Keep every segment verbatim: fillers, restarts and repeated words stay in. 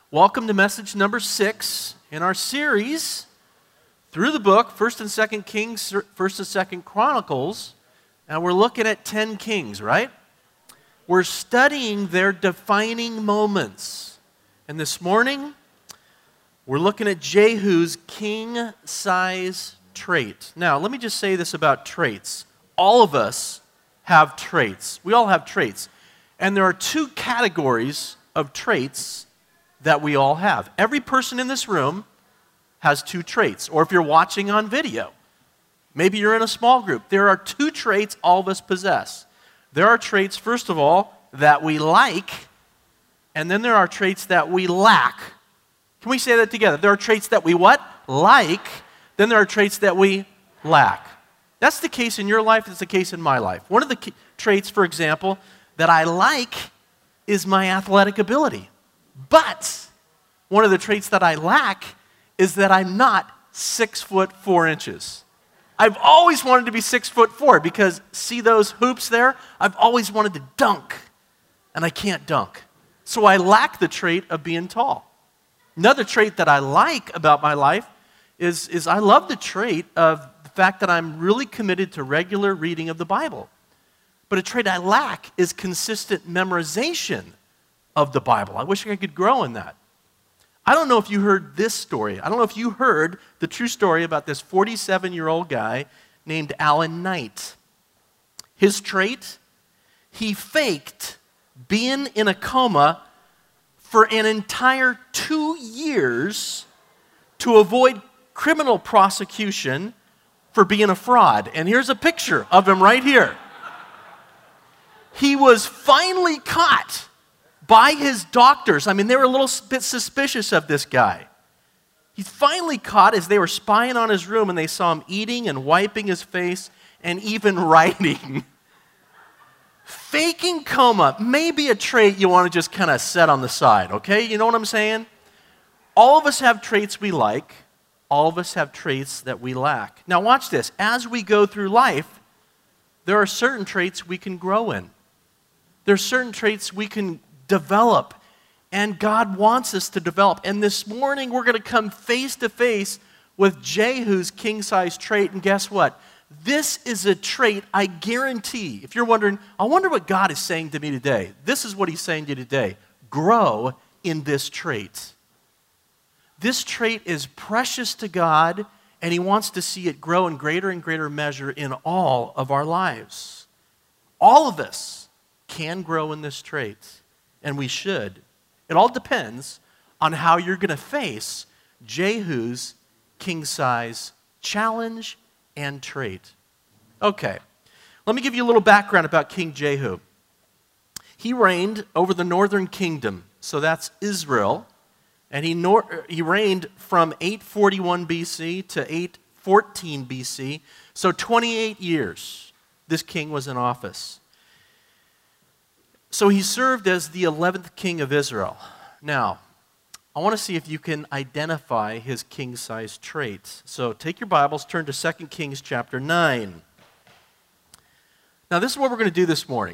Welcome to message number six in our series through the book, First and Second Kings, First and Second Chronicles, and we're looking at ten kings, right? We're studying their defining moments. And this morning, we're looking at Jehu's king-size trait. Now, let me just say this about traits. All of us have traits. We all have traits. And there are two categories of traits that we all have. Every person in this room has two traits. Or if you're watching on video, maybe you're in a small group, there are two traits all of us possess. There are traits, first of all, that we like, and then there are traits that we lack. Can we say that together? There are traits that we what? Like, then there are traits that we lack. That's the case in your life, it's the case in my life. One of the traits, for example, that I like is my athletic ability. But one of the traits that I lack is that I'm not six foot four inches. I've always wanted to be six foot four because see those hoops there? I've always wanted to dunk, and I can't dunk. So I lack the trait of being tall. Another trait that I like about my life is, is I love the trait of the fact that I'm really committed to regular reading of the Bible. But a trait I lack is consistent memorization of the Bible. I wish I could grow in that. I don't know if you heard this story. I don't know if you heard the true story about this forty-seven-year-old guy named Alan Knight. His trait, he faked being in a coma for an entire two years to avoid criminal prosecution for being a fraud. And here's a picture of him right here. He was finally caught by his doctors. I mean, they were a little bit suspicious of this guy. He's finally caught as they were spying on his room and they saw him eating and wiping his face and even writing. Faking coma may be a trait you want to just kind of set on the side, okay? You know what I'm saying? All of us have traits we like. All of us have traits that we lack. Now watch this. As we go through life, there are certain traits we can grow in. There are certain traits we can develop, and God wants us to develop. And this morning, we're going to come face to face with Jehu's king-size trait, and guess what? This is a trait I guarantee. If you're wondering, I wonder what God is saying to me today. This is what he's saying to you today. Grow in this trait. This trait is precious to God, and he wants to see it grow in greater and greater measure in all of our lives. All of us can grow in this trait. And we should. It all depends on how you're going to face Jehu's king-size challenge and trait. Okay, let me give you a little background about King Jehu. He reigned over the northern kingdom, so that's Israel, and he, nor- he reigned from eight forty-one B C to eight fourteen B C, so twenty-eight years this king was in office. So he served as the eleventh king of Israel. Now, I want to see if you can identify his king-size traits. So take your Bibles, turn to Second Kings chapter nine. Now, this is what we're going to do this morning.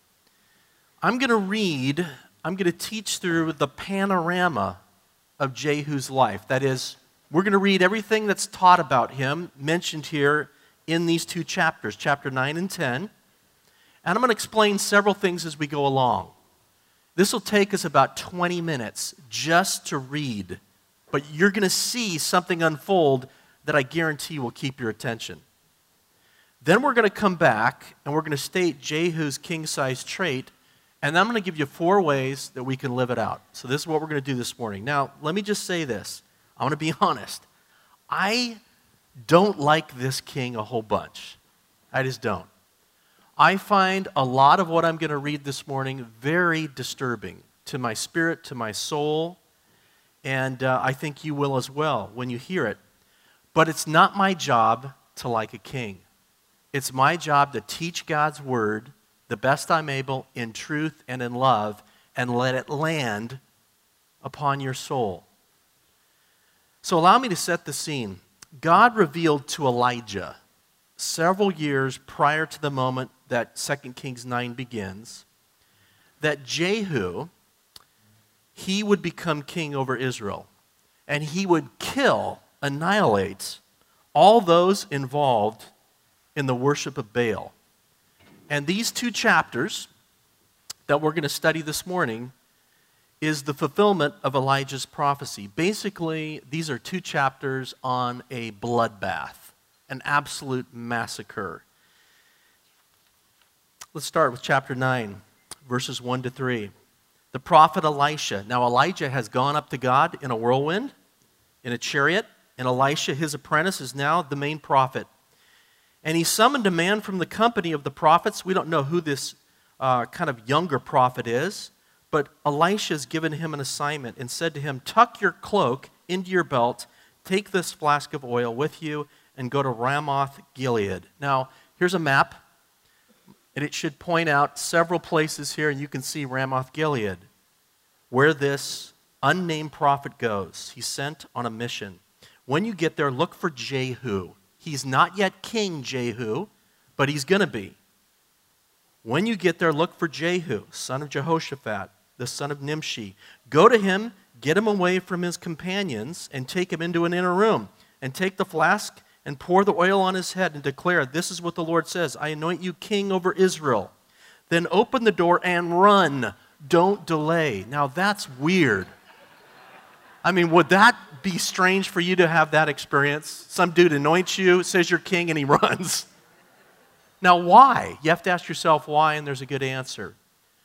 I'm going to read, I'm going to teach through the panorama of Jehu's life. That is, we're going to read everything that's taught about him, mentioned here in these two chapters, chapter nine and ten. And I'm going to explain several things as we go along. This will take us about twenty minutes just to read, but you're going to see something unfold that I guarantee will keep your attention. Then we're going to come back and we're going to state Jehu's king-size trait, and I'm going to give you four ways that we can live it out. So this is what we're going to do this morning. Now, let me just say this. I want to be honest. I don't like this king a whole bunch. I just don't. I find a lot of what I'm going to read this morning very disturbing to my spirit, to my soul, and uh, I think you will as well when you hear it. But it's not my job to like a king. It's my job to teach God's word the best I'm able in truth and in love and let it land upon your soul. So allow me to set the scene. God revealed to Elijah several years prior to the moment that Second Kings nine begins, that Jehu he would become king over Israel. And he would kill, annihilate all those involved in the worship of Baal. And these two chapters that we're going to study this morning is the fulfillment of Elijah's prophecy. Basically, these are two chapters on a bloodbath, an absolute massacre. Let's start with chapter nine, verses one to three. The prophet Elisha. Now Elijah has gone up to God in a whirlwind, in a chariot, and Elisha, his apprentice, is now the main prophet. And he summoned a man from the company of the prophets. We don't know who this uh, kind of younger prophet is, but Elisha has given him an assignment and said to him, tuck your cloak into your belt, take this flask of oil with you, and go to Ramoth Gilead. Now, here's a map, and it should point out several places here, and you can see Ramoth Gilead, where this unnamed prophet goes. He's sent on a mission. When you get there, look for Jehu. He's not yet King Jehu, but he's going to be. When you get there, look for Jehu, son of Jehoshaphat, the son of Nimshi. Go to him, get him away from his companions, and take him into an inner room. And take the flask and pour the oil on his head and declare, this is what the Lord says, I anoint you king over Israel. Then open the door and run. Don't delay. Now that's weird. I mean, would that be strange for you to have that experience? Some dude anoints you, says you're king, and he runs. Now why? You have to ask yourself why, and there's a good answer.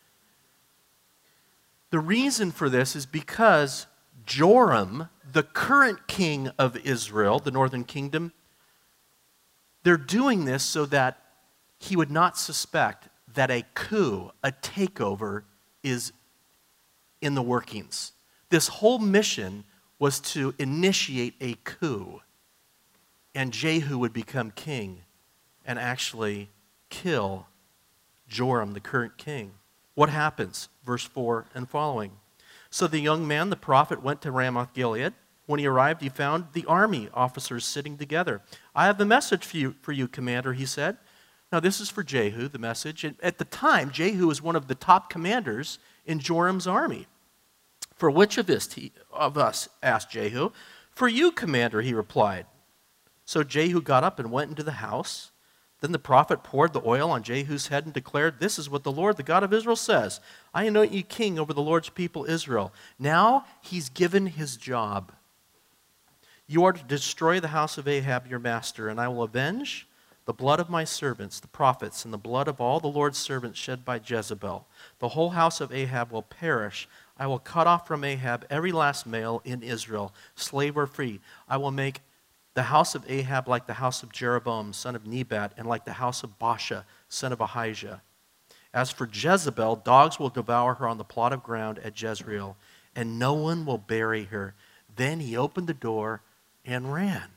The reason for this is because Joram, the current king of Israel, the northern kingdom, they're doing this so that he would not suspect that a coup, a takeover, is in the workings. This whole mission was to initiate a coup, and Jehu would become king and actually kill Joram, the current king. What happens? Verse four and following. So the young man, the prophet, went to Ramoth Gilead. When he arrived, he found the army officers sitting together. I have a message for you, for you, commander, he said. Now this is for Jehu, the message. And at the time, Jehu was one of the top commanders in Joram's army. For which of, this he, of us, asked Jehu. For you, commander, he replied. So Jehu got up and went into the house. Then the prophet poured the oil on Jehu's head and declared, this is what the Lord, the God of Israel, says. I anoint you king over the Lord's people Israel. Now he's given his job. You are to destroy the house of Ahab, your master, and I will avenge the blood of my servants, the prophets, and the blood of all the Lord's servants shed by Jezebel. The whole house of Ahab will perish. I will cut off from Ahab every last male in Israel, slave or free. I will make the house of Ahab like the house of Jeroboam, son of Nebat, and like the house of Baasha, son of Ahijah. As for Jezebel, dogs will devour her on the plot of ground at Jezreel, and no one will bury her. Then he opened the door and ran.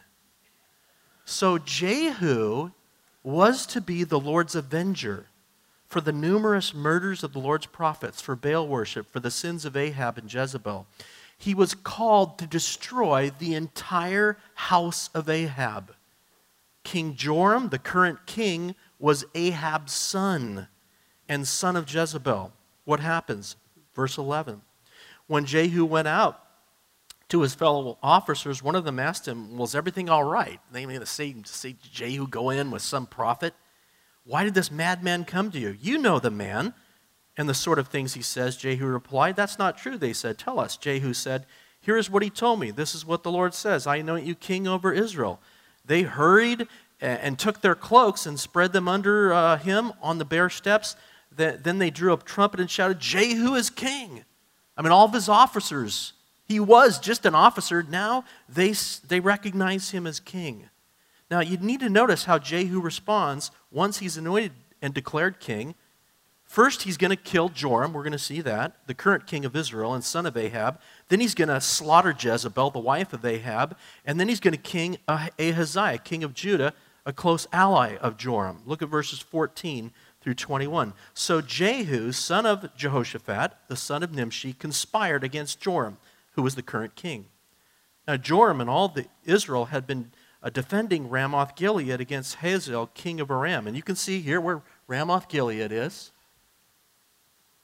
So Jehu was to be the Lord's avenger for the numerous murders of the Lord's prophets, for Baal worship, for the sins of Ahab and Jezebel. He was called to destroy the entire house of Ahab. King Joram, the current king, was Ahab's son and son of Jezebel. What happens? Verse eleven. When Jehu went out to his fellow officers, one of them asked him, was everything all right? They going to say, say Jehu go in with some prophet? Why did this madman come to you? You know the man and the sort of things he says. Jehu replied, that's not true, they said. Tell us. Jehu said, here is what he told me. This is what the Lord says. I anoint you king over Israel. They hurried and took their cloaks and spread them under uh, him on the bare steps. Then they drew a trumpet and shouted, Jehu is king. I mean, all of his officers, he was just an officer. Now they, they recognize him as king. Now you need to notice how Jehu responds once he's anointed and declared king. First, he's going to kill Joram. We're going to see that, the current king of Israel and son of Ahab. Then he's going to slaughter Jezebel, the wife of Ahab. And then he's going to king Ahaziah, king of Judah, a close ally of Joram. Look at verses fourteen through twenty-one. So Jehu, son of Jehoshaphat, the son of Nimshi, conspired against Joram, who was the current king. Now Joram and all the Israel had been uh, defending Ramoth Gilead against Hazael, king of Aram. And you can see here where Ramoth Gilead is.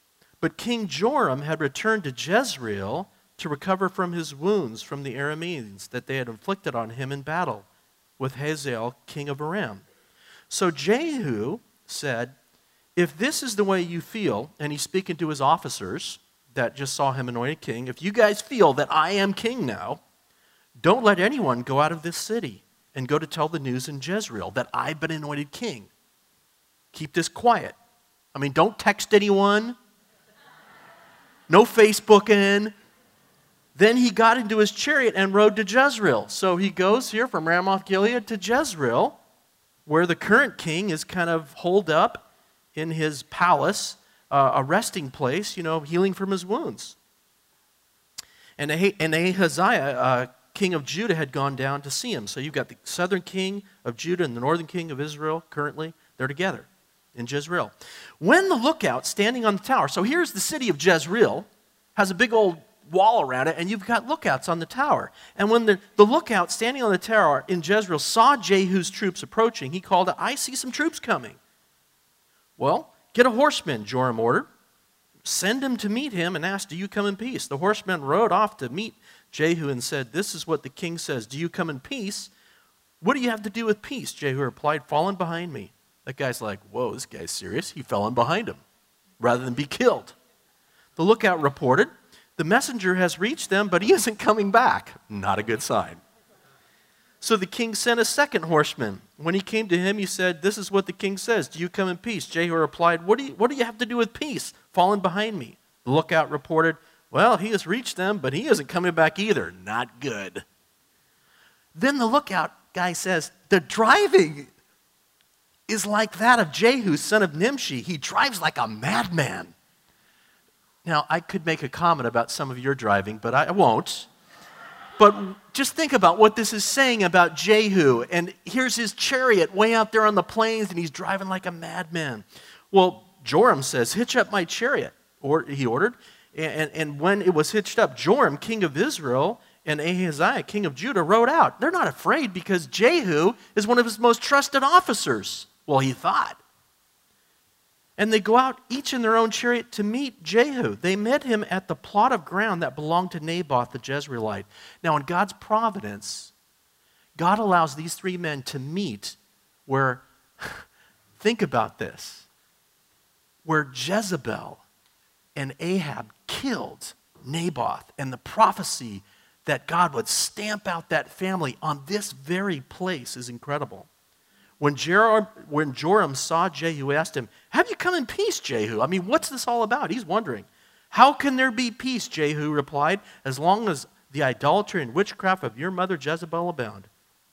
But King Joram had returned to Jezreel to recover from his wounds from the Arameans that they had inflicted on him in battle with Hazael, king of Aram. So Jehu said, if this is the way you feel, and he's speaking to his officers that just saw him anointed king, if you guys feel that I am king now, don't let anyone go out of this city and go to tell the news in Jezreel that I've been anointed king. Keep this quiet. I mean, don't text anyone. No Facebooking. Then he got into his chariot and rode to Jezreel. So he goes here from Ramoth Gilead to Jezreel, where the current king is kind of holed up in his palace, uh, a resting place, you know, healing from his wounds. And, ah- and Ahaziah, uh, king of Judah, had gone down to see him. So you've got the southern king of Judah and the northern king of Israel currently. They're together in Jezreel. When the lookout standing on the tower, so here's the city of Jezreel, has a big old wall around it, and you've got lookouts on the tower. And when the, the lookout standing on the tower in Jezreel saw Jehu's troops approaching, he called out, I see some troops coming. Well, get a horseman, Joram ordered. Send him to meet him and ask, do you come in peace? The horseman rode off to meet Jehu and said, this is what the king says, do you come in peace? What do you have to do with peace? Jehu replied, fall in behind me. That guy's like, whoa, this guy's serious. He fell in behind him rather than be killed. The lookout reported, the messenger has reached them, but he isn't coming back. Not a good sign. So the king sent a second horseman. When he came to him, he said, this is what the king says. Do you come in peace? Jehu replied, what do you, what do you have to do with peace? Fallen behind me. The lookout reported, well, he has reached them, but he isn't coming back either. Not good. Then the lookout guy says, the driving is like that of Jehu, son of Nimshi. He drives like a madman. Now, I could make a comment about some of your driving, but I won't. But just think about what this is saying about Jehu. And here's his chariot way out there on the plains, and he's driving like a madman. Well, Joram says, hitch up my chariot, or he ordered. And, and when it was hitched up, Joram, king of Israel, and Ahaziah, king of Judah, rode out. They're not afraid because Jehu is one of his most trusted officers. Well, he thought. And they go out, each in their own chariot, to meet Jehu. They met him at the plot of ground that belonged to Naboth the Jezreelite. Now, in God's providence, God allows these three men to meet where, think about this, where Jezebel and Ahab killed Naboth, and the prophecy that God would stamp out that family on this very place is incredible. When Joram, when Joram saw Jehu, he asked him, have you come in peace, Jehu? I mean, what's this all about? He's wondering. How can there be peace, Jehu replied, as long as the idolatry and witchcraft of your mother Jezebel abound?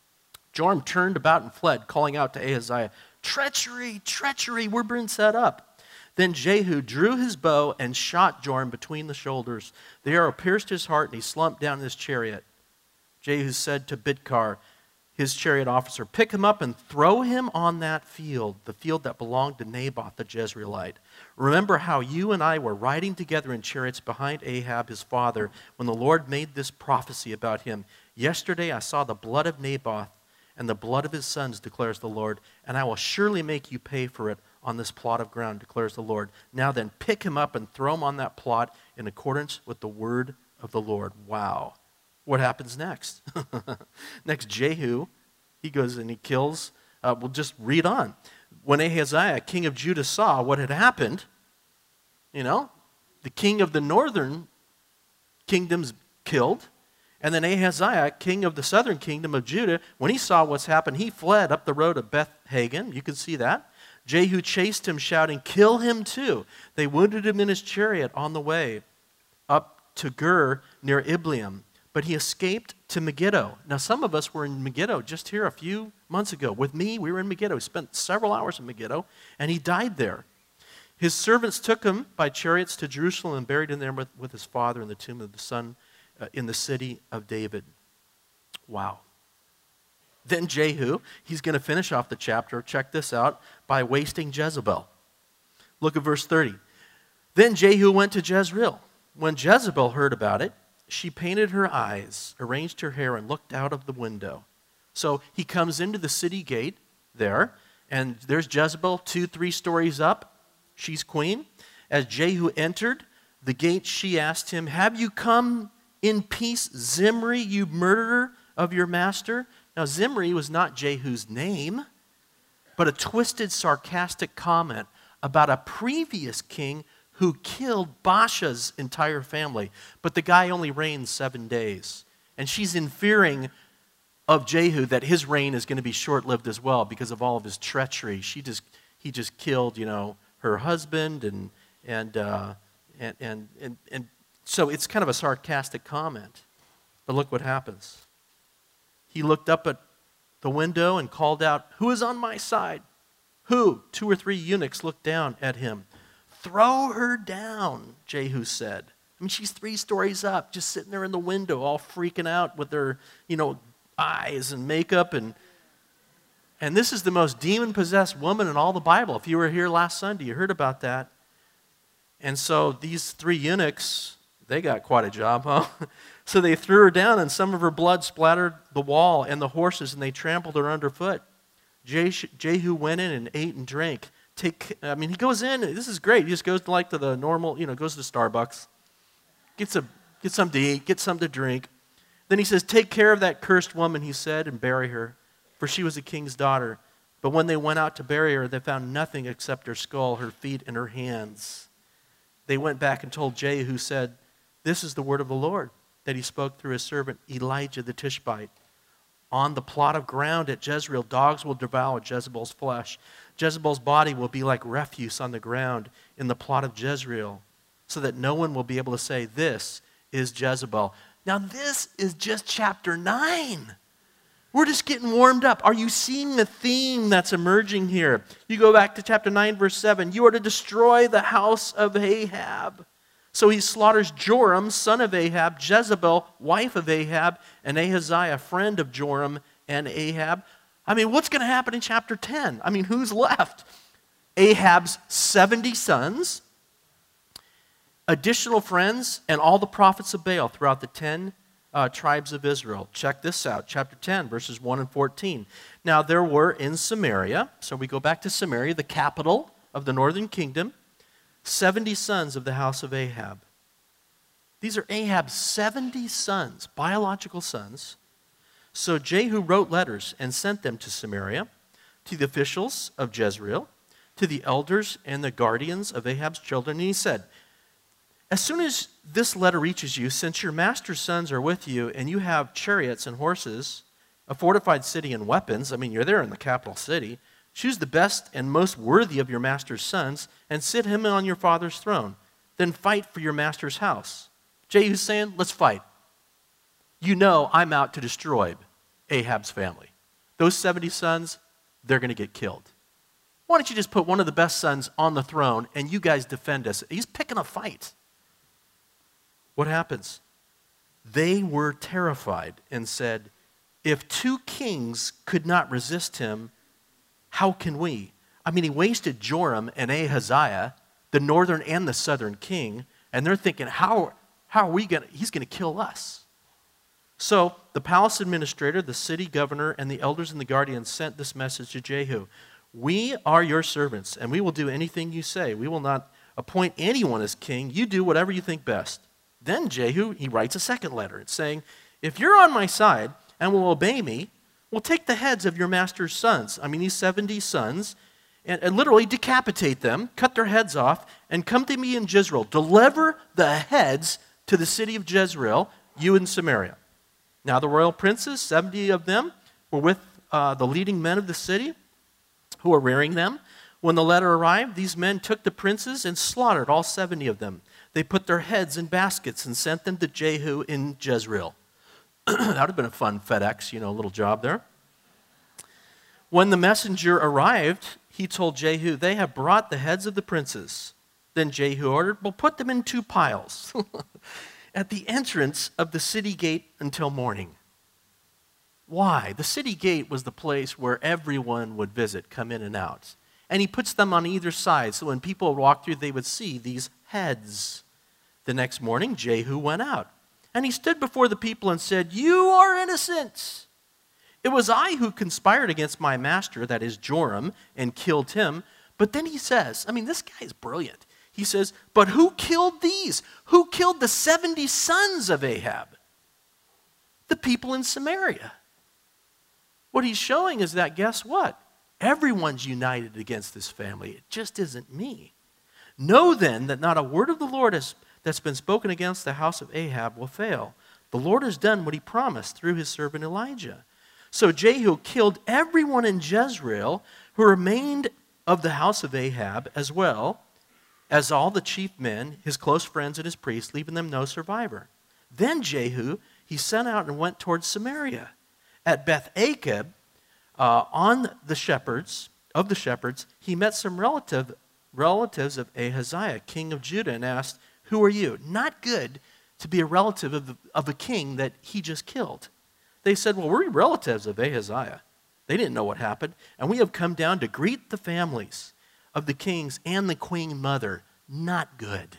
Joram turned about and fled, calling out to Ahaziah, treachery, treachery, we're being set up. Then Jehu drew his bow and shot Joram between the shoulders. The arrow pierced his heart, and he slumped down in his chariot. Jehu said to Bidkar, his chariot officer, pick him up and throw him on that field, the field that belonged to Naboth the Jezreelite. Remember how you and I were riding together in chariots behind Ahab, his father, when the Lord made this prophecy about him. Yesterday I saw the blood of Naboth and the blood of his sons, declares the Lord, and I will surely make you pay for it on this plot of ground, declares the Lord. Now then, pick him up and throw him on that plot in accordance with the word of the Lord. Wow. What happens next? Next, Jehu, he goes and he kills. Uh, we'll just read on. When Ahaziah, king of Judah, saw what had happened, you know, the king of the northern kingdom's killed, and then Ahaziah, king of the southern kingdom of Judah, when he saw what's happened, he fled up the road of Beth-Hagen. You can see that. Jehu chased him, shouting, kill him too. They wounded him in his chariot on the way up to Gur near Ibleam. But he escaped to Megiddo. Now, some of us were in Megiddo just here a few months ago. With me, we were in Megiddo. He spent several hours in Megiddo, and he died there. His servants took him by chariots to Jerusalem and buried him there with, with his father in the tomb of the son uh, in the city of David. Wow. Then Jehu, he's going to finish off the chapter, check this out, by wasting Jezebel. Look at verse thirty. Then Jehu went to Jezreel. When Jezebel heard about it, she painted her eyes, arranged her hair, and looked out of the window. So he comes into the city gate there, and there's Jezebel, two, three stories up. She's queen. As Jehu entered the gate, she asked him, "Have you come in peace, Zimri, you murderer of your master?" Now, Zimri was not Jehu's name, but a twisted, sarcastic comment about a previous king who killed Baasha's entire family. But the guy only reigned seven days. And she's in fearing of Jehu that his reign is going to be short-lived as well because of all of his treachery. She just, he just killed, you know, her husband, and and uh, and, and and and so it's kind of a sarcastic comment. But look what happens. He looked up at the window and called out, "Who is on my side?" Who? Two or three eunuchs looked down at him. "Throw her down," Jehu said. I mean, she's three stories up, just sitting there in the window, all freaking out with her, you know, eyes and makeup. And and this is the most demon-possessed woman in all the Bible. If you were here last Sunday, you heard about that. And so these three eunuchs, they got quite a job, huh? So they threw her down, and some of her blood splattered the wall and the horses, and they trampled her underfoot. Jehu went in and ate and drank. Take, I mean, he goes in. This is great. He just goes to like to the normal, you know, goes to Starbucks, gets a get some to eat, get some to drink. Then he says, "Take care of that cursed woman," he said, "and bury her, for she was a king's daughter." But when they went out to bury her, they found nothing except her skull, her feet, and her hands. They went back and told Jehu, who said, "This is the word of the Lord that he spoke through his servant Elijah the Tishbite. On the plot of ground at Jezreel, dogs will devour Jezebel's flesh. Jezebel's body will be like refuse on the ground in the plot of Jezreel, so that no one will be able to say, 'This is Jezebel.'" Now this is just chapter nine. We're just getting warmed up. Are you seeing the theme that's emerging here? You go back to chapter nine, verse seven. "You are to destroy the house of Ahab." So he slaughters Joram, son of Ahab, Jezebel, wife of Ahab, and Ahaziah, friend of Joram and Ahab. I mean, what's going to happen in chapter ten? I mean, who's left? Ahab's seventy sons, additional friends, and all the prophets of Baal throughout the ten uh, tribes of Israel. Check this out, chapter ten, verses one and fourteen. "Now there were in Samaria," so we go back to Samaria, the capital of the northern kingdom, seventy sons of the house of Ahab. These are Ahab's seventy sons, biological sons. So Jehu wrote letters and sent them to Samaria, to the officials of Jezreel, to the elders and the guardians of Ahab's children. And he said, "As soon as this letter reaches you, since your master's sons are with you, and you have chariots and horses, a fortified city and weapons," I mean, you're there in the capital city, "choose the best and most worthy of your master's sons, and sit him on your father's throne. Then fight for your master's house." Jehu's saying, let's fight. You know I'm out to destroy Ahab's family. Those seventy sons, they're going to get killed. Why don't you just put one of the best sons on the throne, and you guys defend us? He's picking a fight. What happens? They were terrified and said, "If two kings could not resist him, how can we?" I mean, he wasted Joram and Ahaziah, the northern and the southern king, and they're thinking, how, how are we going to, he's going to kill us. So the palace administrator, the city governor, and the elders and the guardians sent this message to Jehu. "We are your servants, and we will do anything you say. We will not appoint anyone as king. You do whatever you think best." Then Jehu, he writes a second letter. It's saying, "If you're on my side and will obey me, we'll take the heads of your master's sons," I mean these seventy sons, and, and literally decapitate them, cut their heads off, and come to me in Jezreel. Deliver the heads to the city of Jezreel, you in Samaria. Now the royal princes, seventy of them, were with uh, the leading men of the city who were rearing them. When the letter arrived, these men took the princes and slaughtered all seventy of them. They put their heads in baskets and sent them to Jehu in Jezreel. That would have been a fun FedEx, you know, little job there. When the messenger arrived, he told Jehu, "They have brought the heads of the princes." Then Jehu ordered, "Well, put them in two piles at the entrance of the city gate until morning." Why? The city gate was the place where everyone would visit, come in and out. And he puts them on either side, so when people walked through, they would see these heads. The next morning, Jehu went out, and he stood before the people and said, "You are innocent. It was I who conspired against my master," that is Joram, "and killed him." But then he says, I mean, this guy is brilliant. He says, but who killed these? Who killed the seventy sons of Ahab? The people in Samaria. What he's showing is that, guess what? Everyone's united against this family. It just isn't me. Know then that not a word of the Lord has, that's been spoken against the house of Ahab will fail. The Lord has done what he promised through his servant Elijah. So Jehu killed everyone in Jezreel who remained of the house of Ahab, as well as all the chief men, his close friends and his priests, leaving them no survivor. Then Jehu, he sent out and went towards Samaria. At Beth Akab, uh, on the shepherds, of the shepherds, he met some relative, relatives of Ahaziah, king of Judah, and asked, who are you? Not good to be a relative of, of a king that he just killed. They said, well, we're relatives of Ahaziah. They didn't know what happened. And we have come down to greet the families of the kings and the queen mother. Not good.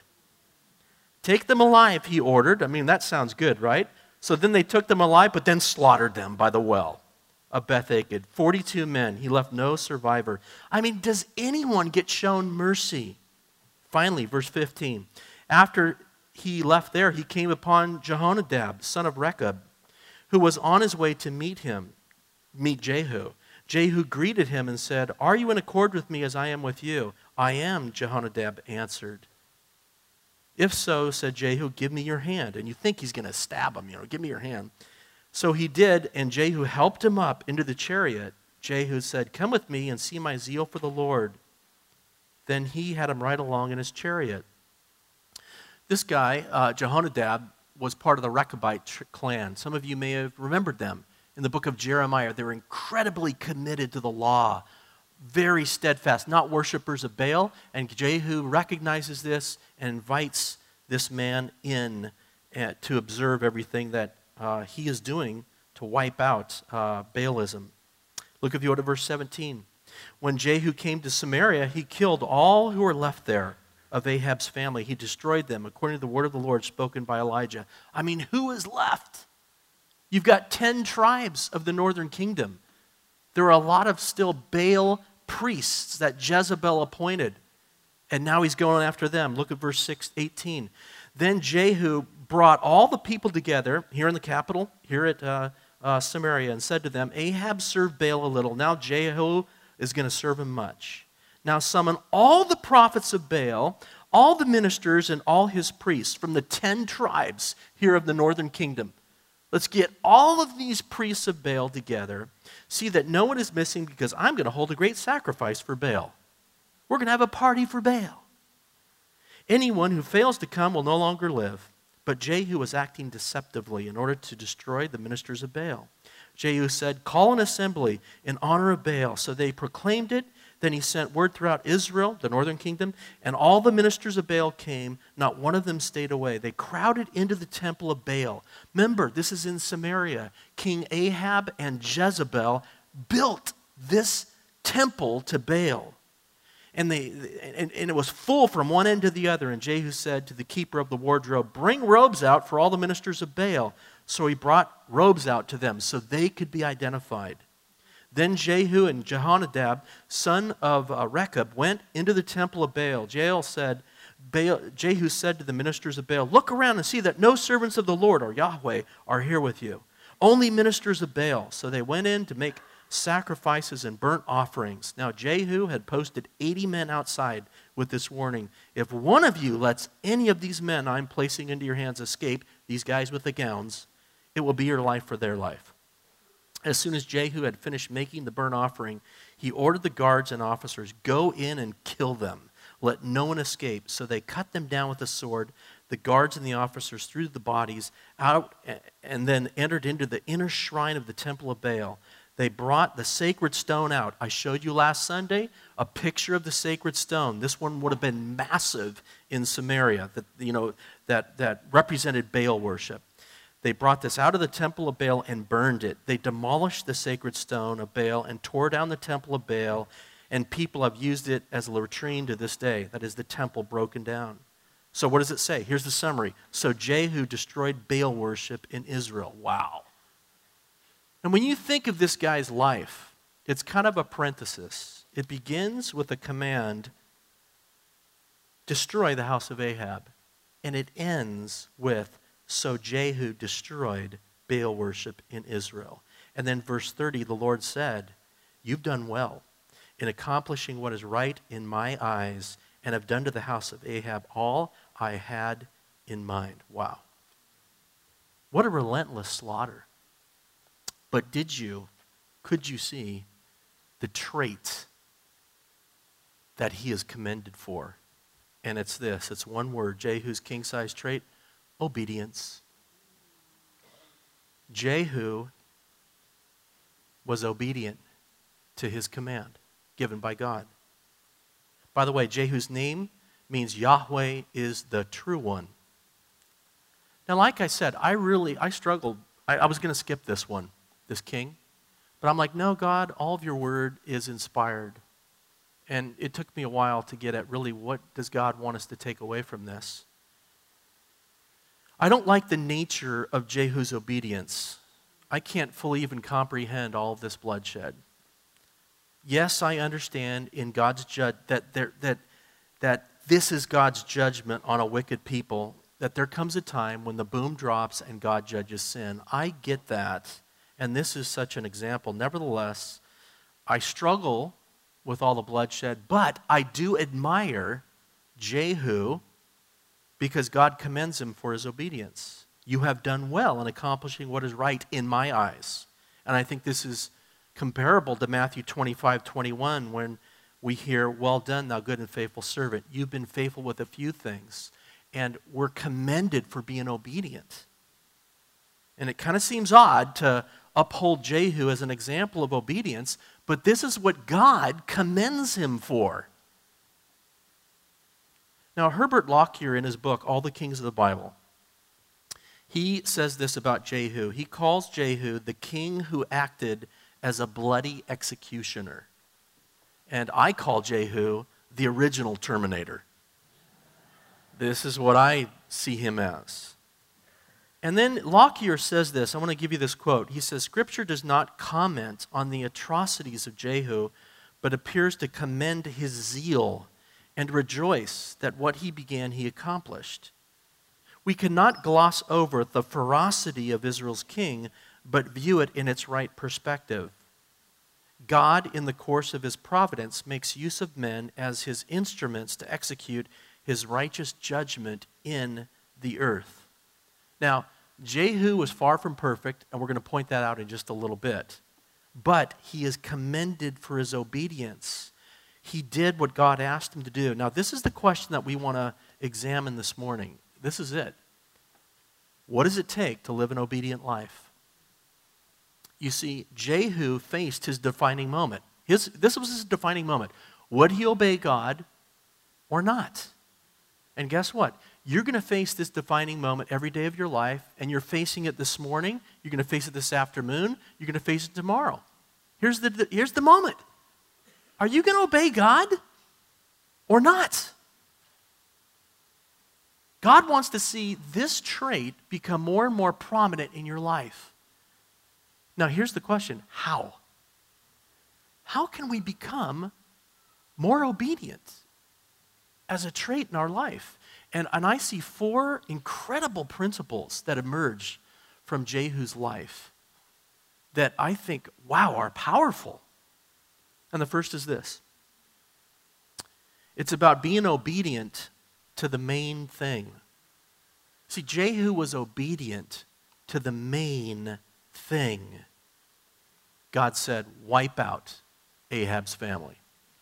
Take them alive, he ordered. I mean, that sounds good, right? So then they took them alive, but then slaughtered them by the well of Beth Akab. forty-two men. He left no survivor. I mean, does anyone get shown mercy? Finally, verse fifteen. After he left there, he came upon Jehonadab, son of Rechab, who was on his way to meet him, meet Jehu. Jehu greeted him and said, are you in accord with me as I am with you? I am, Jehonadab answered. If so, said Jehu, give me your hand. And you think he's going to stab him, you know, give me your hand. So he did, and Jehu helped him up into the chariot. Jehu said, come with me and see my zeal for the Lord. Then he had him ride along in his chariot. This guy, uh, Jehonadab, was part of the Rechabite tr- clan. Some of you may have remembered them. In the book of Jeremiah, they were incredibly committed to the law, very steadfast, not worshipers of Baal. And Jehu recognizes this and invites this man in uh, to observe everything that uh, he is doing to wipe out uh, Baalism. Look, if you go to verse seventeen. When Jehu came to Samaria, he killed all who were left there of Ahab's family. He destroyed them according to the word of the Lord spoken by Elijah. I mean, who is left? You've got ten tribes of the northern kingdom. There are a lot of still Baal priests that Jezebel appointed. And now he's going after them. Look at verse six, eighteen. Then Jehu brought all the people together here in the capital, here at uh, uh, Samaria, and said to them, Ahab served Baal a little. Now Jehu is going to serve him much. Now summon all the prophets of Baal, all the ministers and all his priests from the ten tribes here of the northern kingdom. Let's get all of these priests of Baal together, see that no one is missing, because I'm going to hold a great sacrifice for Baal. We're going to have a party for Baal. Anyone who fails to come will no longer live. But Jehu was acting deceptively in order to destroy the ministers of Baal. Jehu said, call an assembly in honor of Baal. So they proclaimed it. Then he sent word throughout Israel, the northern kingdom, and all the ministers of Baal came. Not one of them stayed away. They crowded into the temple of Baal. Remember, this is in Samaria. King Ahab and Jezebel built this temple to Baal. And, they, and, and it was full from one end to the other. And Jehu said to the keeper of the wardrobe, bring robes out for all the ministers of Baal. So he brought robes out to them so they could be identified. Then Jehu and Jehonadab, son of uh, Rechab, went into the temple of Baal. Jehu said, Baal, Jehu said to the ministers of Baal, look around and see that no servants of the Lord or Yahweh are here with you. Only ministers of Baal. So they went in to make sacrifices and burnt offerings. Now Jehu had posted eighty men outside with this warning. If one of you lets any of these men I'm placing into your hands escape, these guys with the gowns, it will be your life for their life. As soon as Jehu had finished making the burnt offering, he ordered the guards and officers, go in and kill them. Let no one escape. So they cut them down with a sword. The guards and the officers threw the bodies out and then entered into the inner shrine of the temple of Baal. They brought the sacred stone out. I showed you last Sunday a picture of the sacred stone. This one would have been massive in Samaria, that, you know, that, that represented Baal worship. They brought this out of the temple of Baal and burned it. They demolished the sacred stone of Baal and tore down the temple of Baal, and people have used it as a latrine to this day. That is the temple broken down. So what does it say? Here's the summary. So Jehu destroyed Baal worship in Israel. Wow. And when you think of this guy's life, it's kind of a parenthesis. It begins with a command destroy the house of Ahab. And it ends with, so Jehu destroyed Baal worship in Israel. And then verse thirty, the Lord said, you've done well in accomplishing what is right in my eyes, and have done to the house of Ahab all I had in mind. Wow. What a relentless slaughter. But did you, could you see the trait that he is commended for? And it's this, it's one word, Jehu's king-size trait, obedience. Jehu was obedient to his command given by God. By the way, Jehu's name means Yahweh is the true one. Now, like I said, I really, I struggled. I, I was going to skip this one, this king. But I'm like, no, God, all of your word is inspired. And it took me a while to get at really what does God want us to take away from this. I don't like the nature of Jehu's obedience. I can't fully even comprehend all of this bloodshed. Yes, I understand in God's judge that there that that this is God's judgment on a wicked people, that there comes a time when the boom drops and God judges sin. I get that, and this is such an example. Nevertheless, I struggle with all the bloodshed, but I do admire Jehu because God commends him for his obedience. You have done well in accomplishing what is right in my eyes. And I think this is comparable to Matthew twenty-five twenty-one when we hear, well done, thou good and faithful servant. You've been faithful with a few things, and we're commended for being obedient. And it kind of seems odd to uphold Jehu as an example of obedience, but this is what God commends him for. Now, Herbert Lockyer, in his book, All the Kings of the Bible, he says this about Jehu. He calls Jehu the king who acted as a bloody executioner. And I call Jehu the original Terminator. This is what I see him as. And then Lockyer says this. I want to give you this quote. He says, Scripture does not comment on the atrocities of Jehu, but appears to commend his zeal and rejoice that what he began he accomplished. We cannot gloss over the ferocity of Israel's king, but view it in its right perspective. God, in the course of his providence, makes use of men as his instruments to execute his righteous judgment in the earth. Now, Jehu was far from perfect, and we're going to point that out in just a little bit. But he is commended for his obedience. He did what God asked him to do. Now, this is the question that we want to examine this morning. This is it. What does it take to live an obedient life? You see, Jehu faced his defining moment. His, this was his defining moment. Would he obey God or not? And guess what? You're going to face this defining moment every day of your life, and you're facing it this morning. You're going to face it this afternoon. You're going to face it tomorrow. Here's the, the, here's the moment. Are you going to obey God or not? God wants to see this trait become more and more prominent in your life. Now, here's the question. How? How can we become more obedient as a trait in our life? And, and I see four incredible principles that emerge from Jehu's life that I think, wow, are powerful. And the first is this. It's about being obedient to the main thing. See, Jehu was obedient to the main thing. God said, wipe out Ahab's family.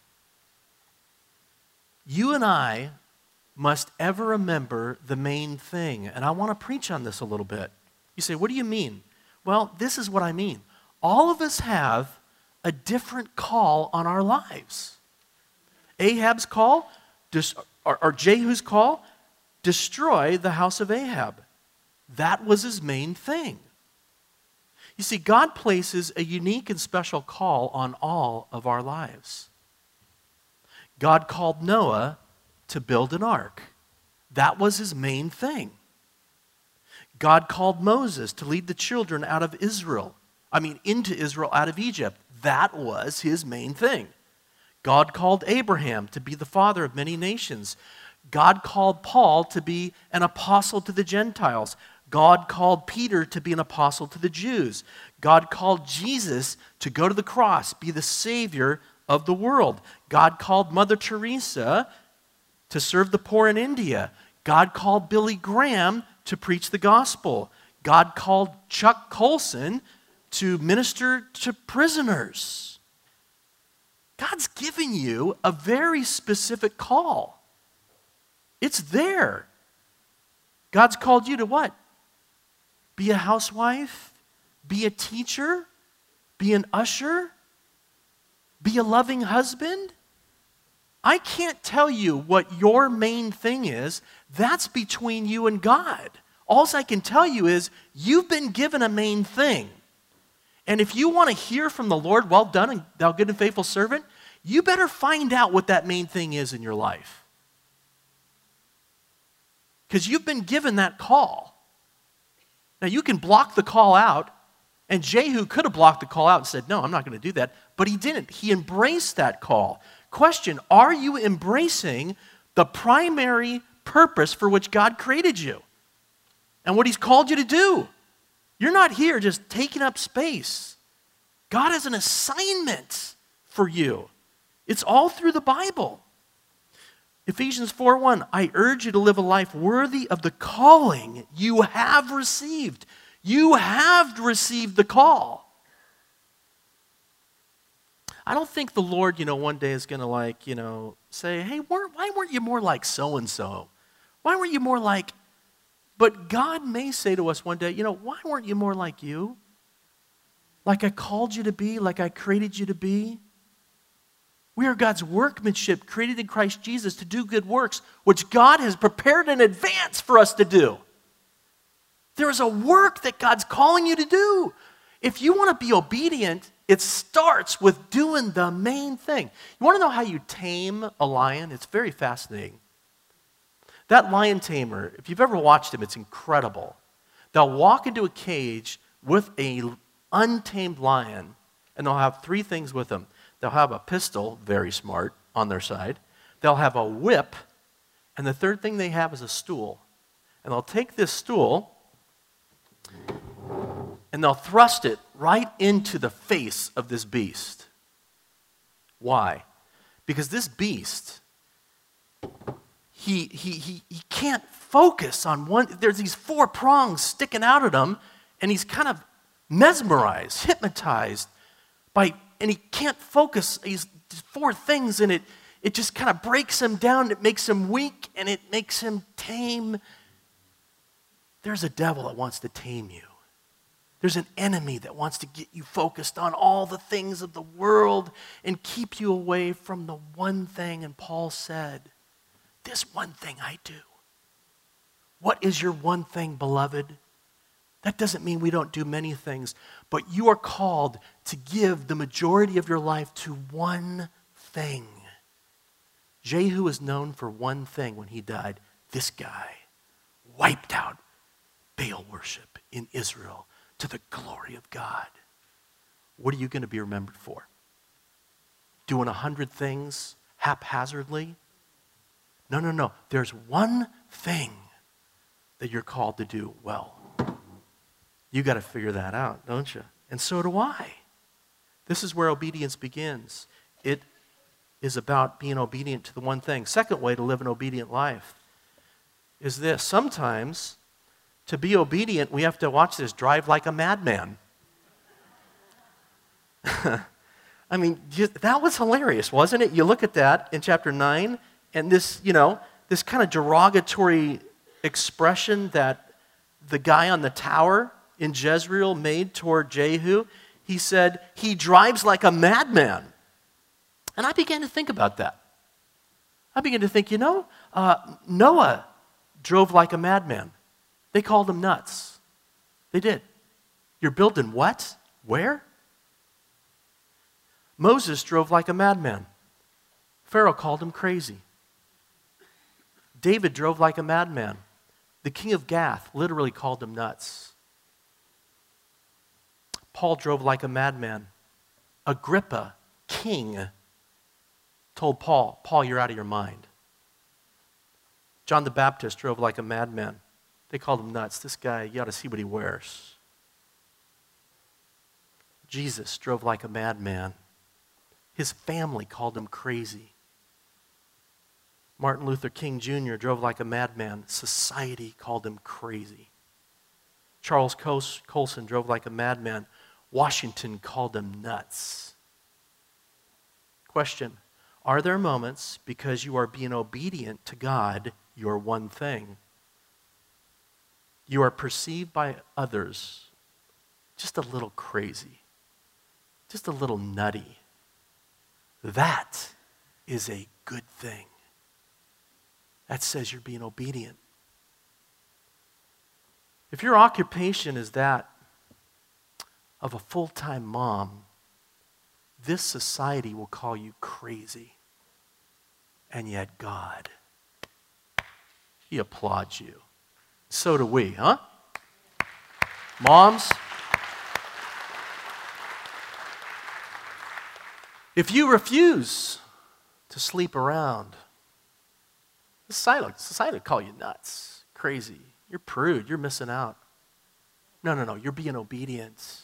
You and I must ever remember the main thing. And I want to preach on this a little bit. You say, what do you mean? Well, this is what I mean. All of us have a different call on our lives. Ahab's call, or, or Jehu's call, destroy the house of Ahab. That was his main thing. You see, God places a unique and special call on all of our lives. God called Noah to build an ark. That was his main thing. God called Moses to lead the children out of Israel. I mean, into Israel out of Egypt. That was his main thing. God called Abraham to be the father of many nations. God called Paul to be an apostle to the Gentiles. God called Peter to be an apostle to the Jews. God called Jesus to go to the cross, be the Savior of the world. God called Mother Teresa to serve the poor in India. God called Billy Graham to preach the gospel. God called Chuck Colson to minister to prisoners. God's given you a very specific call. It's there. God's called you to what? Be a housewife? Be a teacher? Be an usher? Be a loving husband? I can't tell you what your main thing is. That's between you and God. All I can tell you is you've been given a main thing. And if you want to hear from the Lord, well done, thou good and faithful servant, you better find out what that main thing is in your life. Because you've been given that call. Now, you can block the call out, and Jehu could have blocked the call out and said, no, I'm not going to do that. But he didn't. He embraced that call. Question, are you embracing the primary purpose for which God created you and what he's called you to do? You're not here just taking up space. God has an assignment for you. It's all through the Bible. Ephesians four one, I urge you to live a life worthy of the calling you have received. You have received the call. I don't think the Lord, you know, one day is going to like, you know, say, hey, why weren't you more like so-and-so? Why weren't you more like, but God may say to us one day, you know, why weren't you more like you? Like I called you to be, like I created you to be. We are God's workmanship, created in Christ Jesus to do good works, which God has prepared in advance for us to do. There is a work that God's calling you to do. If you want to be obedient, it starts with doing the main thing. You want to know how you tame a lion? It's very fascinating. That lion tamer, if you've ever watched him, it's incredible. They'll walk into a cage with an untamed lion, and they'll have three things with them. They'll have a pistol, very smart, on their side. They'll have a whip, and the third thing they have is a stool. And they'll take this stool, and they'll thrust it right into the face of this beast. Why? Because this beast, he, he, he, he can't focus on one. There's these four prongs sticking out at him, and he's kind of mesmerized, hypnotized by, and he can't focus. He's four things, and it, it just kind of breaks him down. It makes him weak, and it makes him tame. There's a devil that wants to tame you. There's an enemy that wants to get you focused on all the things of the world and keep you away from the one thing. And Paul said, this one thing I do. What is your one thing, beloved? That doesn't mean we don't do many things, but you are called to give the majority of your life to one thing. Jehu is known for one thing when he died. This guy wiped out Baal worship in Israel to the glory of God. What are you going to be remembered for? Doing a hundred things haphazardly? No, no, no. There's one thing that you're called to do well. You got to figure that out, don't you? And so do I. This is where obedience begins. It is about being obedient to the one thing. Second way to live an obedient life is this. Sometimes, to be obedient, we have to, watch this, drive like a madman. I mean, that was hilarious, wasn't it? You look at that in chapter nine, and this, you know, this kind of derogatory expression that the guy on the tower in Jezreel made toward Jehu. He said, he drives like a madman. And I began to think about that. I began to think, you know, uh, Noah drove like a madman. They called him nuts. They did. You're building what? Where? Moses drove like a madman. Pharaoh called him crazy. David drove like a madman. The king of Gath literally called him nuts. Paul drove like a madman. Agrippa, king, told Paul, Paul, you're out of your mind. John the Baptist drove like a madman. They called him nuts. This guy, you ought to see what he wears. Jesus drove like a madman. His family called him crazy. Martin Luther King Junior drove like a madman. Society called him crazy. Charles Colson drove like a madman. Washington called him nuts. Question, are there moments because you are being obedient to God, your one thing, you are perceived by others just a little crazy, just a little nutty? That is a good thing. That says you're being obedient. If your occupation is that of a full-time mom, this society will call you crazy. And yet God, He applauds you. So do we, huh? Moms, if you refuse to sleep around, society, society will call you nuts, crazy. You're prude, you're missing out. No, no, no, you're being obedient.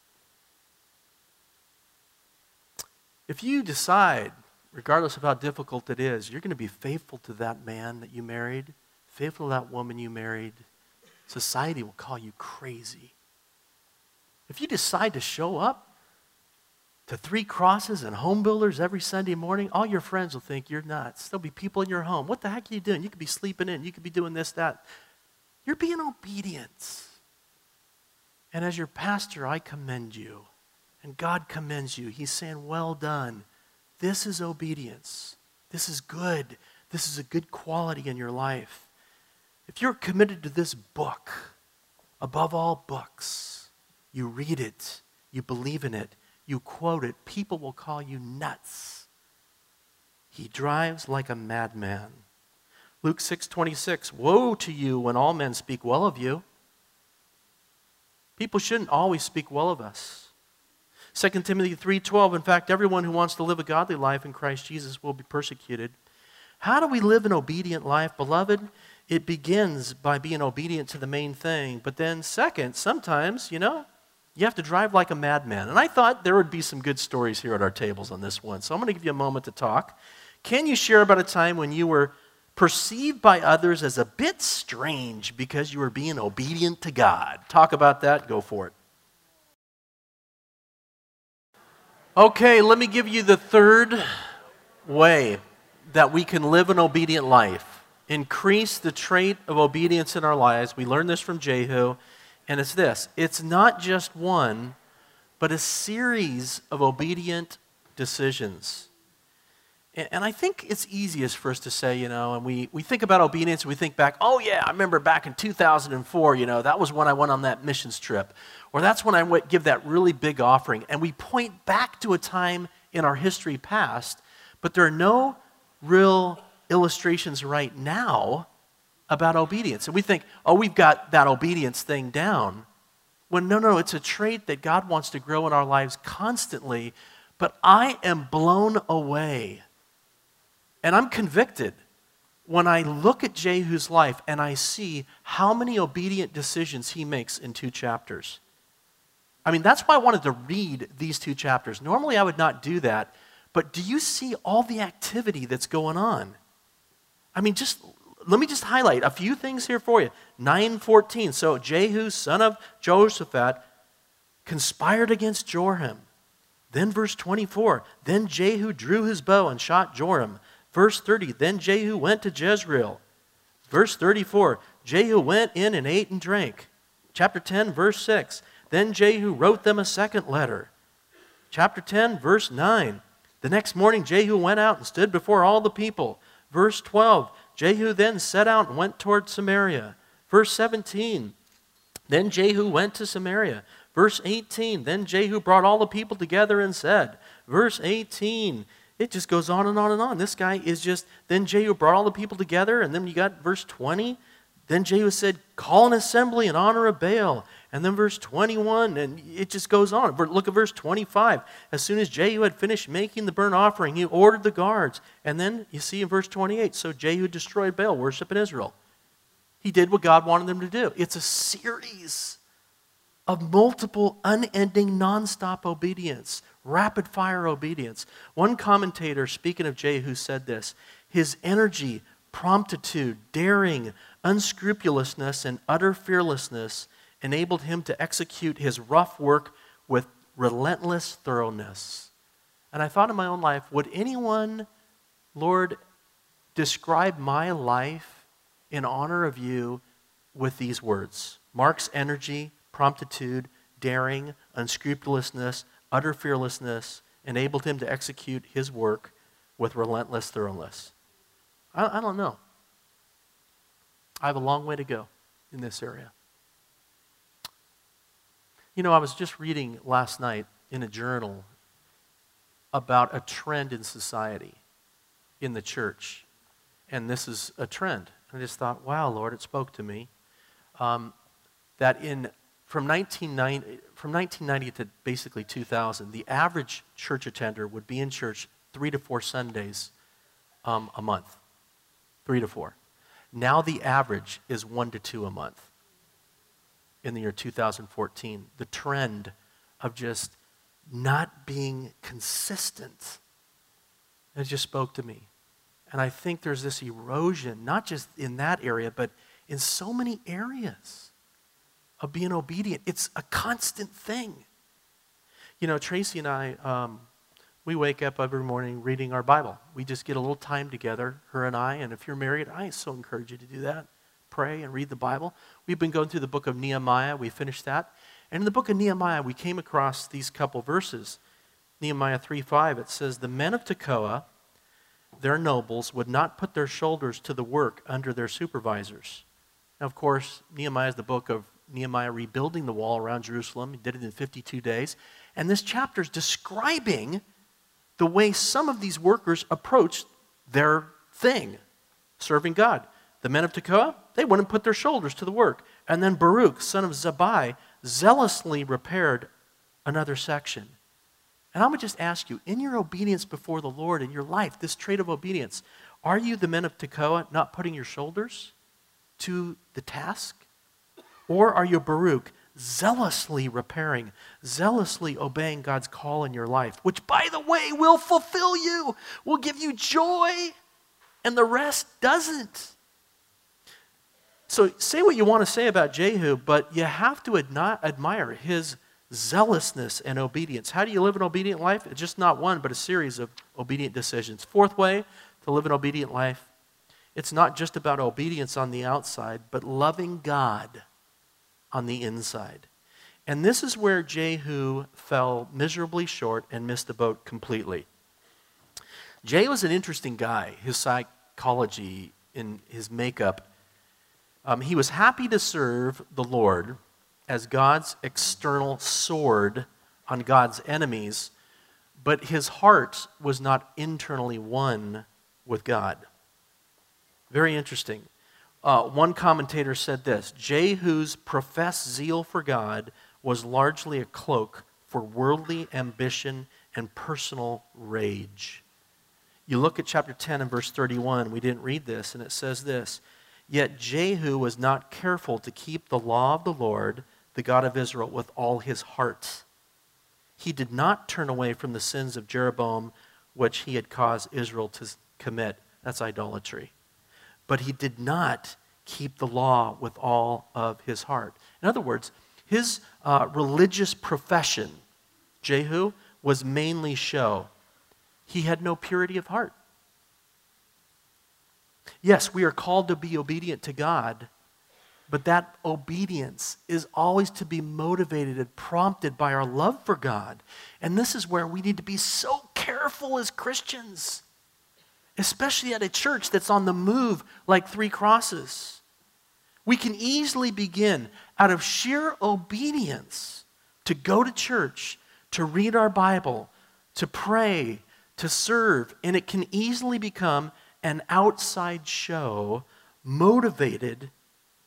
If you decide, regardless of how difficult it is, you're going to be faithful to that man that you married, faithful to that woman you married, society will call you crazy. If you decide to show up to Three Crosses and Home Builders every Sunday morning, all your friends will think you're nuts. There'll be people in your home. What the heck are you doing? You could be sleeping in. You could be doing this, that. You're being obedient. And as your pastor, I commend you. And God commends you. He's saying, well done. This is obedience. This is good. This is a good quality in your life. If you're committed to this book, above all books, you read it, you believe in it, you quote it, people will call you nuts. He drives like a madman. Luke six twenty-six, woe to you when all men speak well of you. People shouldn't always speak well of us. Second Timothy three twelve, in fact, everyone who wants to live a godly life in Christ Jesus will be persecuted. How do we live an obedient life? Beloved, it begins by being obedient to the main thing. But then second, sometimes, you know, you have to drive like a madman. And I thought there would be some good stories here at our tables on this one. So I'm going to give you a moment to talk. Can you share about a time when you were perceived by others as a bit strange because you were being obedient to God? Talk about that. Go for it. Okay, let me give you the third way that we can live an obedient life. Increase the trait of obedience in our lives. We learned this from Jehu, and it's this. It's not just one, but a series of obedient decisions. And I think it's easiest for us to say, you know, and we, we think about obedience and we think back, oh yeah, I remember back in two thousand four, you know, that was when I went on that missions trip. Or that's when I went give that really big offering. And we point back to a time in our history past, but there are no real illustrations right now about obedience. And we think, oh, we've got that obedience thing down. When no, no, it's a trait that God wants to grow in our lives constantly. But I am blown away. And I'm convicted when I look at Jehu's life and I see how many obedient decisions he makes in two chapters. I mean, that's why I wanted to read these two chapters. Normally I would not do that, but do you see all the activity that's going on? I mean, just let me just highlight a few things here for you. nine fourteen, so Jehu, son of Jehoshaphat, conspired against Joram. Then verse twenty-four, then Jehu drew his bow and shot Joram. Verse thirty, then Jehu went to Jezreel. Verse thirty-four, Jehu went in and ate and drank. Chapter ten, verse six, then Jehu wrote them a second letter. Chapter ten, verse nine, the next morning Jehu went out and stood before all the people. Verse twelve, Jehu then set out and went toward Samaria. Verse seventeen, then Jehu went to Samaria. Verse eighteen, then Jehu brought all the people together and said. Verse eighteen, it just goes on and on and on. This guy is just, then Jehu brought all the people together, and then you got verse twenty. Then Jehu said, call an assembly in honor of Baal. And then verse twenty-one, and it just goes on. Look at verse twenty-five. As soon as Jehu had finished making the burnt offering, he ordered the guards. And then you see in verse twenty-eight, so Jehu destroyed Baal worship in Israel. He did what God wanted them to do. It's a series of multiple, unending, nonstop obedience, rapid-fire obedience. One commentator, speaking of Jehu, said this: his energy, promptitude, daring, unscrupulousness, and utter fearlessness enabled him to execute his rough work with relentless thoroughness. And I thought in my own life, would anyone, Lord, describe my life in honor of you with these words? Mark's energy, promptitude, daring, unscrupulousness, utter fearlessness enabled him to execute his work with relentless thoroughness. I, I don't know. I have a long way to go in this area. You know, I was just reading last night in a journal about a trend in society, in the church. And this is a trend. I just thought, wow, Lord, it spoke to me. Um, that in from nineteen ninety, from nineteen ninety to basically two thousand, the average church attender would be in church three to four Sundays um, a month. Three to four. Now the average is one to two a month. In the year two thousand fourteen, the trend of just not being consistent, it just spoke to me. And I think there's this erosion, not just in that area, but in so many areas of being obedient. It's a constant thing. You know, Tracy and I, um, we wake up every morning reading our Bible. We just get a little time together, her and I, and if you're married, I so encourage you to do that. Pray and read the Bible. We've been going through the book of Nehemiah. We finished that. And in the book of Nehemiah, we came across these couple verses. Nehemiah three five, it says, the men of Tekoa, their nobles, would not put their shoulders to the work under their supervisors. Now, of course, Nehemiah is the book of Nehemiah rebuilding the wall around Jerusalem. He did it in fifty-two days. And this chapter is describing the way some of these workers approached their thing, serving God. The men of Tekoa, they wouldn't put their shoulders to the work. And then Baruch, son of Zabbai, zealously repaired another section. And I would just ask you, in your obedience before the Lord, in your life, this trait of obedience, are you the men of Tekoa not putting your shoulders to the task? Or are you Baruch, zealously repairing, zealously obeying God's call in your life, which, by the way, will fulfill you, will give you joy, and the rest doesn't? So say what you want to say about Jehu, but you have to admi- admire his zealousness and obedience. How do you live an obedient life? It's just not one, but a series of obedient decisions. Fourth way to live an obedient life, it's not just about obedience on the outside, but loving God on the inside. And this is where Jehu fell miserably short and missed the boat completely. Jehu was an interesting guy, his psychology, in his makeup. Um, he was happy to serve the Lord as God's external sword on God's enemies, but his heart was not internally one with God. Very interesting. Uh, one commentator said this: Jehu's professed zeal for God was largely a cloak for worldly ambition and personal rage. You look at chapter ten and verse thirty-one, we didn't read this, and it says this: Yet Jehu was not careful to keep the law of the Lord, the God of Israel, with all his heart. He did not turn away from the sins of Jeroboam, which he had caused Israel to commit. That's idolatry. But he did not keep the law with all of his heart. In other words, his uh, religious profession, Jehu, was mainly show. He had no purity of heart. Yes, we are called to be obedient to God, but that obedience is always to be motivated and prompted by our love for God. And this is where we need to be so careful as Christians, especially at a church that's on the move like Three Crosses. We can easily begin out of sheer obedience to go to church, to read our Bible, to pray, to serve, and it can easily become an outside show motivated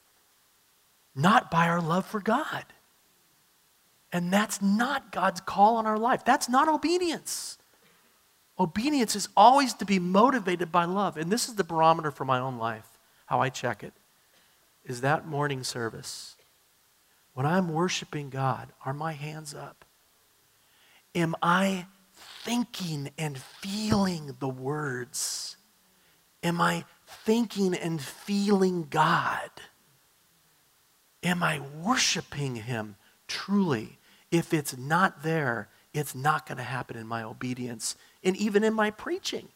not by our love for God. And that's not God's call on our life. That's not obedience. Obedience is always to be motivated by love. And this is the barometer for my own life, how I check it, is that morning service. When I'm worshiping God, are my hands up? Am I thinking and feeling the words? Am I thinking and feeling God? Am I worshiping Him truly? If it's not there, it's not going to happen in my obedience and even in my preaching.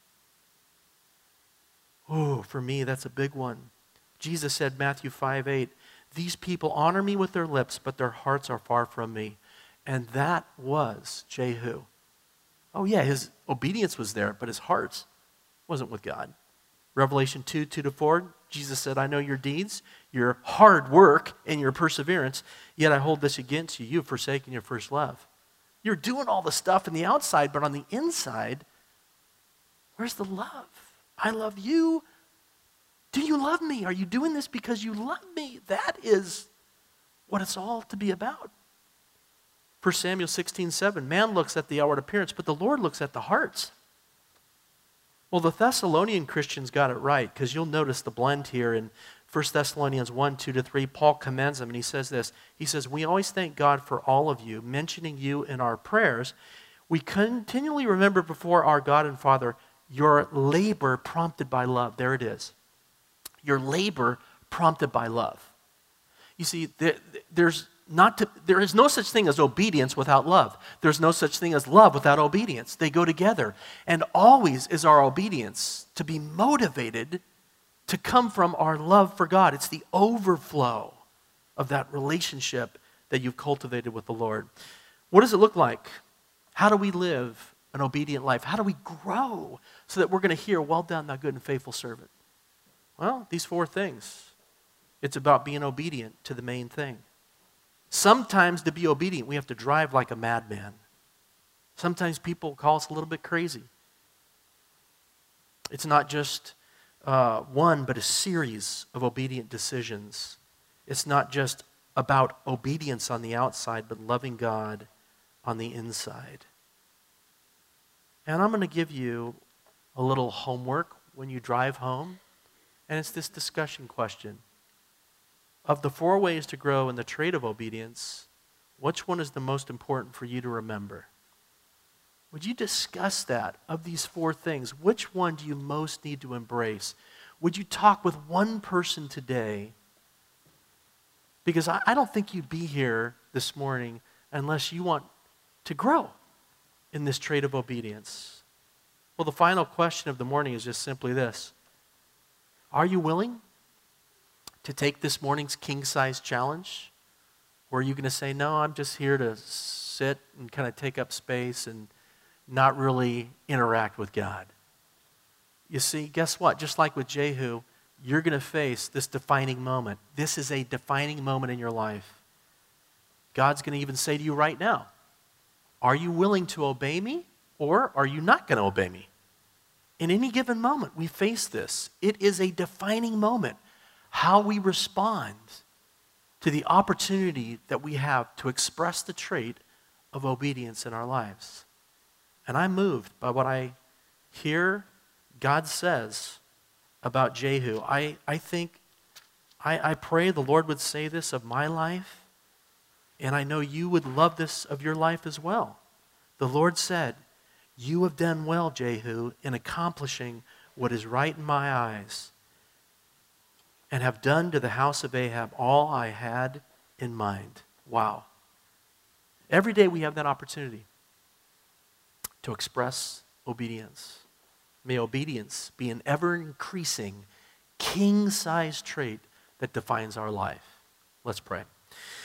Oh, for me, that's a big one. Jesus said, Matthew five eight, these people honor me with their lips, but their hearts are far from me. And that was Jehu. Oh yeah, his obedience was there, but his heart wasn't with God. Revelation two, two to four, Jesus said, I know your deeds, your hard work, and your perseverance, yet I hold this against you. You have forsaken your first love. You're doing all the stuff in the outside, but on the inside, where's the love? I love you. Do you love me? Are you doing this because you love me? That is what it's all to be about. First Samuel sixteen seven, man looks at the outward appearance, but the Lord looks at the hearts. Well, the Thessalonian Christians got it right, because you'll notice the blend here in First Thessalonians one, two to three. Paul commends them, and he says this. He says, we always thank God for all of you, mentioning you in our prayers. We continually remember before our God and Father your labor prompted by love. There it is. Your labor prompted by love. You see, there, there's not to, there is no such thing as obedience without love. There's no such thing as love without obedience. They go together. And always is our obedience to be motivated to come from our love for God. It's the overflow of that relationship that you've cultivated with the Lord. What does it look like? How do we live an obedient life? How do we grow so that we're going to hear, well done, thou good and faithful servant? Well, these four things. It's about being obedient to the main thing. Sometimes to be obedient, we have to drive like a madman. Sometimes people call us a little bit crazy. It's not just uh, one, but a series of obedient decisions. It's not just about obedience on the outside, but loving God on the inside. And I'm going to give you a little homework when you drive home, and it's this discussion question. Of the four ways to grow in the trait of obedience, which one is the most important for you to remember? Would you discuss that? Of these four things, which one do you most need to embrace? Would you talk with one person today? Because I, I don't think you'd be here this morning unless you want to grow in this trait of obedience. Well, the final question of the morning is just simply this. Are you willing to take this morning's king-size challenge? Or are you going to say, no, I'm just here to sit and kind of take up space and not really interact with God? You see, guess what? Just like with Jehu, you're going to face this defining moment. This is a defining moment in your life. God's going to even say to you right now, are you willing to obey me, or are you not going to obey me? In any given moment, we face this. It is a defining moment. How we respond to the opportunity that we have to express the trait of obedience in our lives. And I'm moved by what I hear God says about Jehu. I, I think, I, I pray the Lord would say this of my life, and I know you would love this of your life as well. The Lord said, you have done well, Jehu, in accomplishing what is right in my eyes, and have done to the house of Ahab all I had in mind. Wow. Every day we have that opportunity to express obedience. May obedience be an ever-increasing, king-sized trait that defines our life. Let's pray.